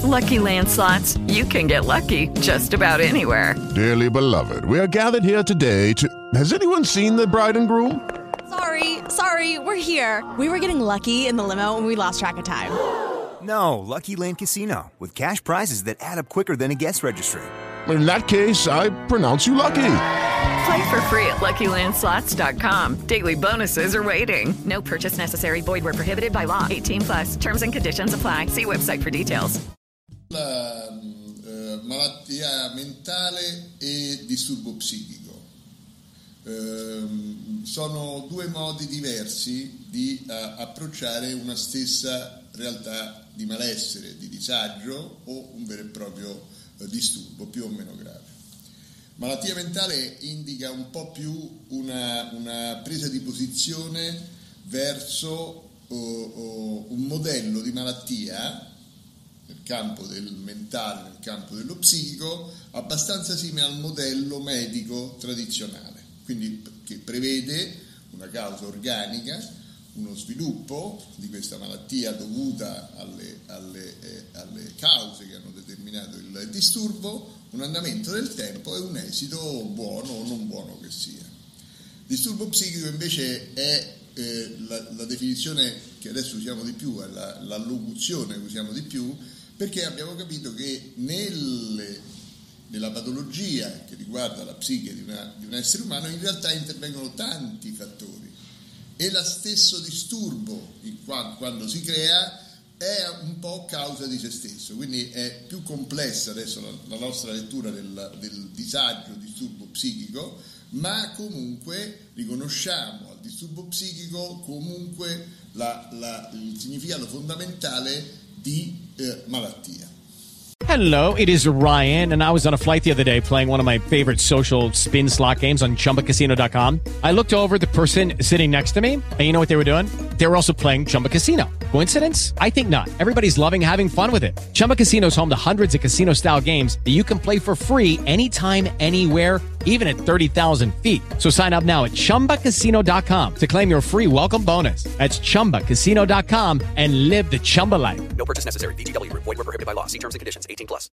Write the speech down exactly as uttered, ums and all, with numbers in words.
Lucky Land Slots, you can get lucky just about anywhere. Dearly beloved, we are gathered here today to... Has anyone seen the bride and groom? Sorry, sorry, we're here. We were getting lucky in the limo and we lost track of time. No, Lucky Land Casino, with cash prizes that add up quicker than a guest registry. In that case, I pronounce you lucky. Play for free at Lucky Land Slots dot com. Daily bonuses are waiting. No purchase necessary. Void where prohibited by law. eighteen plus. Terms and conditions apply. See website for details. La eh, malattia mentale e disturbo psichico eh, sono due modi diversi di eh, approcciare una stessa realtà di malessere, di disagio o un vero e proprio eh, disturbo più o meno grave. Malattia mentale indica un po' più una, una presa di posizione verso oh, oh, un modello di malattia nel campo del mentale, nel campo dello psichico, abbastanza simile al modello medico tradizionale, quindi che prevede una causa organica, uno sviluppo di questa malattia dovuta alle, alle, eh, alle cause che hanno determinato il disturbo, un andamento del tempo e un esito buono o non buono che sia. Disturbo psichico invece è eh, la, la definizione che adesso usiamo di più, è la, l'allocuzione che usiamo di più, perché abbiamo capito che nelle, nella patologia che riguarda la psiche di, una, di un essere umano in realtà intervengono tanti fattori e lo stesso disturbo quando si crea è un po' causa di se stesso, quindi è più complessa adesso la, la nostra lettura del, del disagio, disturbo psichico, ma comunque riconosciamo al disturbo psichico comunque la, la, il significato fondamentale di eh, malattia. Hello, it is Ryan, and I was on a flight the other day playing one of my favorite social spin slot games on Chumba Casino dot com. I looked over at the person sitting next to me, and you know what they were doing? They were also playing Chumba Casino. Coincidence? I think not. Everybody's loving having fun with it. Chumba Casino is home to hundreds of casino-style games that you can play for free anytime, anywhere, even at thirty thousand feet. So sign up now at Chumba Casino dot com to claim your free welcome bonus. That's Chumba Casino dot com and live the Chumba life. No purchase necessary. V G W. Void where prohibited by law. See terms and conditions. eighteen plus.